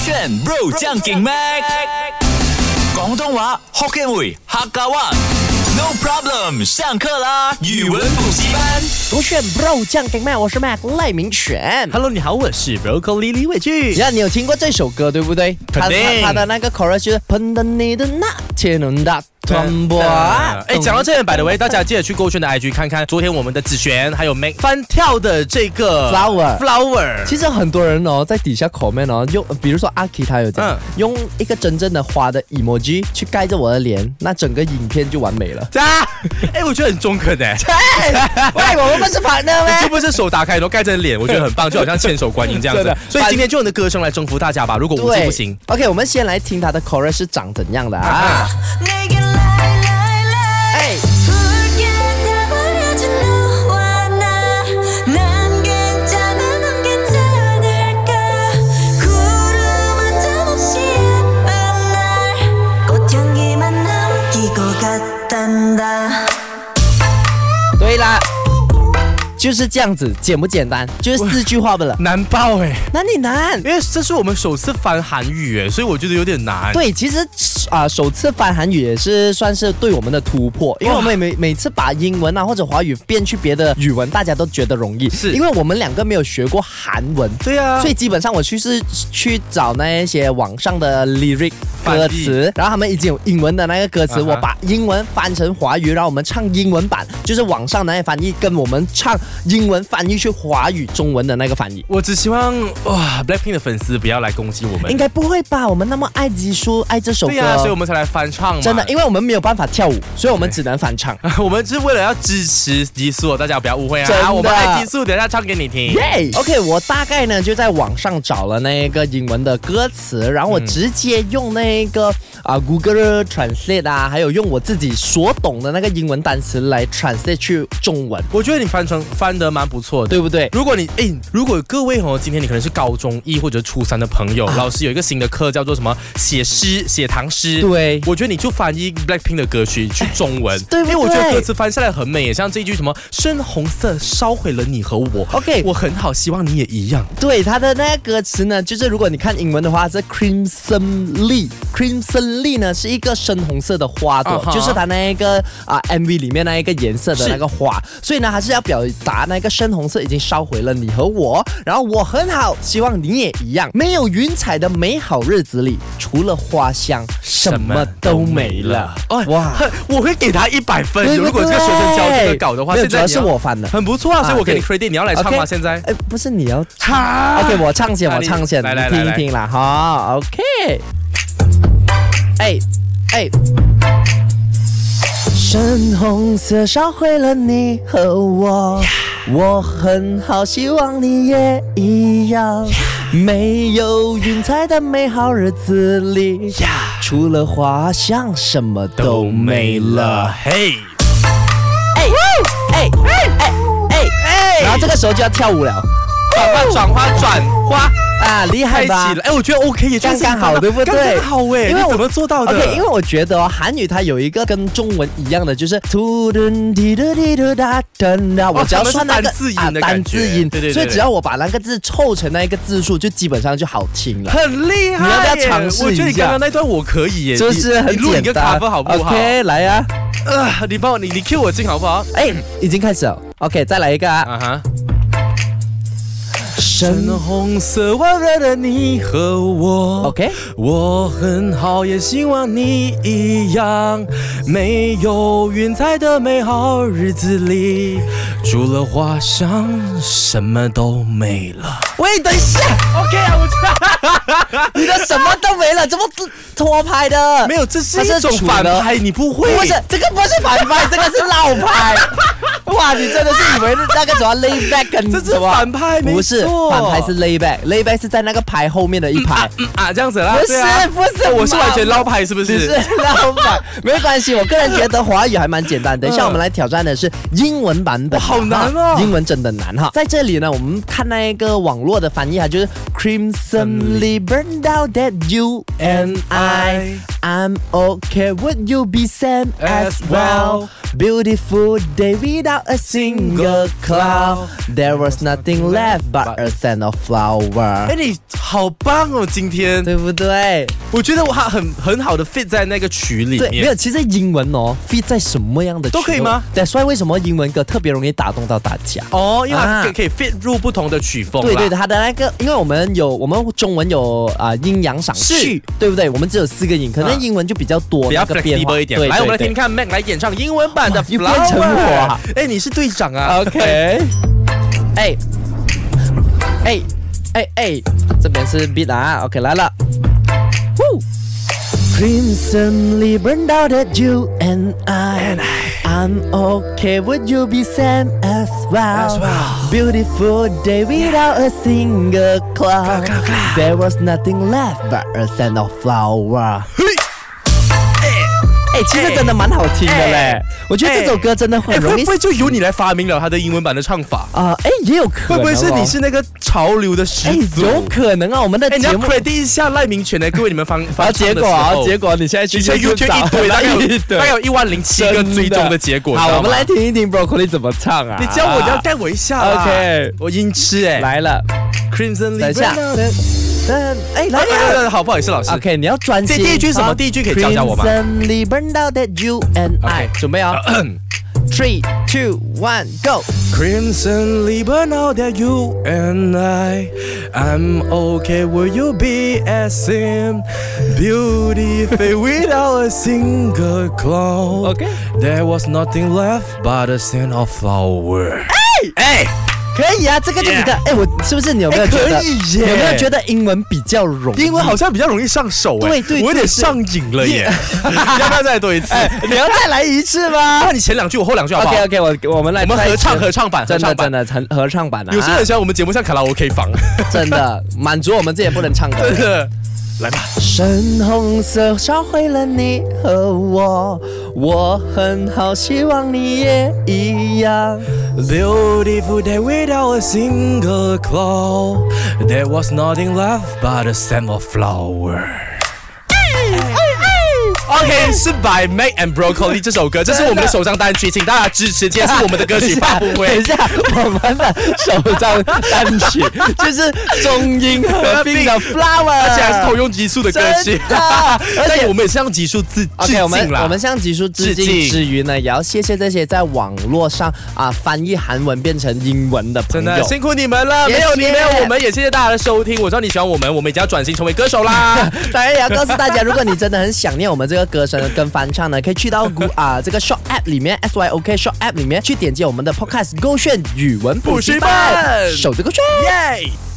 选 Bro 将劲 Mac， 广东话 Hokkien 语客家话。No problem， 上课啦！语文补习班， 勾选 Bro 酱给麦，我是 Mac 赖明全。 Hello， 你好，我是 Broccoli 李伟俊。 你有听过这首歌对不对？ 肯定。 他的那个 chorus 就是喷的你的那天能大团波。 讲到这边，by the way， 大家记得去勾选的 IG 看看，昨天我们的子璇还有 Mac 翻跳的这个 flower。 其实很多人在底下 comment 用，比如说阿 K 他有讲，用一个真正的花的 emoji 去盖着我的脸，那整个影片就完美了。 我觉得很中肯的。 喂，我们不是 partner 吗？ 就不是手打开然后盖着脸，我觉得很棒，就好像千手观音这样子。所以今天就用你的歌声来征服大家吧。如果无字不行 ，OK， 我们先来听他的 chorus 是长怎样的啊？对啦，就是这样子，简不简单？就是4句话不了， 难爆哪里难？ 因为这是我们首次翻韩语所以我觉得有点难。 对，其实首次翻韩语也是算是对我们的突破，因为我们每次把英文或者华语变去别的语文，大家都觉得容易，是因为我们两个没有学过韩文。 对啊， 所以基本上我去找那一些网上的 lyric 歌词，然后他们已经有英文的那个歌词，我把英文翻成华语，然后我们唱英文版，就是网上那些翻译，跟我们唱英文翻译去华语中文的那个翻译。 我只希望Blackpink 的粉丝不要来攻击我们。 应该不会吧？我们那么爱吉叔，爱这首歌， 对啊，所以我们才来翻唱嘛。 真的，因为我们没有办法跳舞，所以我们只能翻唱。 我们是为了要支持吉叔，大家不要误会啊！我们爱吉叔，等一下唱给你听。 OK， 我大概呢就在网上找了那个英文的歌词，然后我直接用那个Google Translate 还有用我自己所懂的那个英文单词来 translate 去中文。 我觉得你翻得蛮不错的， 对不对？ 如果各位今天你可能是高中1或者初3的朋友，老师有一个新的课叫做什么写唐诗， 对， 我觉得你就翻译 Blackpink 的歌曲去中文， 对不对？ 因为我觉得歌词翻下来很美，像这一句什么深红色烧毁了你和我 ，OK， 我很好，希望你也一样。 对，它的那个歌词呢，就是如果你看英文的话是 Crimson Leaf 呢是一个深红色的花朵，就是它那一个MV 里面那一个颜色的那个花，所以呢还是要表达那个深红色已经烧毁了你和我，然后我很好，希望你也一样。没有云彩的美好日子里，除了花香，什么都没了。 哇，我会给他100分。如果这个学生交这个稿的话， 现在是我翻的， 很不错啊，所以我给你 credit。你要来唱吗？现在？ 不是你要唱 ？OK， 我唱先，你听一听啦，好 ，OK。深红色烧毁了你和我，我很好，希望你也一样。没有云彩的美好日子里，除了花香，什么都没了。然后这个时候就要跳舞了， 转花。 厉害吧？ 我觉得 OK， 也刚刚好，对不对？ 刚好因为我怎么做到的 ？OK， 因为我觉得韩语它有一个跟中文一样的，就是我只要算那个单字音，对，所以只要我把那个字凑成那一个字数，就基本上就好听了， 很厉害。 你要不要尝试一下？ 我觉得你刚刚那段我可以耶， 就是很简单。 你录一个cover好不好 ？OK， 来呀！ 你 cue 我进好不好？ 已经开始了。OK， 再来一个深红色温热的你和我 ，OK， 我很好，也希望你一样。没有云彩的美好日子里，除了花香，什么都没了。 喂，等一下 ，OK 啊， 你的什么都没了，怎么拖拍的？ 没有，这是一种反拍，你不会？ 不是，这个不是反拍，这个是绕拍。哇，你真的是以为那个什么 lay back 跟这是反拍， 不是反拍是 lay back，lay back 是在那个拍后面的一排这样子啦。 不是， 我是完全捞拍，是不是？ 是捞拍，没关系。我个人觉得华语还蛮简单。等一下我们来挑战的是英文版本， 好难哦， 英文真的难哈。在这里呢，我们看那个网络的翻译就是 Crimson Leaf burned out out that you and I'm okay. Would you be same as well? Beautiful day without a single cloud. There was nothing left but a scent of flower. 哎，你好棒哦，今天对不对？ 我觉得我很好的 fit 在那个曲里对，没面。 有，其实英文哦 fit 在什么样的曲都可以吗？ 对，所以为什么英文歌特别容易打动到大家？ 哦，因为它可以 fit 入不同的曲风啦。 对对对，它的那个，因为我们中文有阴阳赏序，对不对？我们只有4个音，可能英文就比较多， 比较那个变化 flexible 一点。 对， 来，我们来听听看 Mac 来演唱英文版的又 Flower。 变成我啊哎，你是队长啊。 OK， 这边是 beat 啊 ，OK 来了。Crimsonly burned out at you and I'm okay. Would you be same as well? Beautiful day without a single cloud. There was nothing left but a scent of flower. 其实真的蛮好听的嘞，我觉得这首歌真的很容易。 会不会就由你来发明了它的英文版的唱法啊？也有可能， 会不会是你是那个潮流的始祖？ 有可能啊，我们的节目。 你要 credit 一下赖明权呢，各位你们发结果你现在去 YouTube 一堆，大概有10700个追踪的结果。 好，我们来听一听 Broccoli 怎么唱啊？ 你教我，你要带我一下。 OK， 我音痴哎， 来了 ，Crimson。 等一下。来， 好，不好意思，老师。 OK， 你要专心。 第一句什么？第一句可以教我吗 ？Crimsonly burned out that you and I。准备啊！3, 2, 1, go! Crimsonly burned out that you and I'm okay. Will you be as same? Beauty fade without a single cloud. Okay. There was nothing left but a scent of flower. 哎。 可以啊，这个就比较我是不是你有没有觉得？ 可以耶， 有没有觉得英文比较容易？ 英文好像比较容易上手哎， 对， 我有点上瘾了耶！要不要再多一次？ 你要再来一次吗？ 那你前2句，我后2句好不好 ？OK， 我们来， 我们合唱版， 真的合唱版啊！ 有些人喜欢我们节目像卡拉 OK 房， 真的满足我们这也不能唱歌。 真的。来吧， 深红色烧毁了你和我很好，希望你也一样。 Beautiful day without a single cloud. There was nothing left but a scent of flower. OK， 是 by Mac and Broccoli 这首歌，这是我们的首张单曲，请大家支持。今天是我们的歌曲发布会。 等一下，我们的首张单曲就是中英合并的 Flower， 而且还是同用级数的歌曲。而且我们也是向级数致敬啦。 我们向级数致敬之余呢，也要谢谢这些在网络上翻译韩文变成英文的朋友， 真的辛苦你们了。没有你，没有我们，也谢谢大家的收听。我知道你喜欢我们已经要转型成为歌手啦。 当然也要告诉大家，如果你真的很想念我们这个歌声跟翻唱呢，可以去到这个 Shop App 里面 SYOK Shop App 里面去点击我们的 Podcast 勾选语文补习班，守着勾选，耶！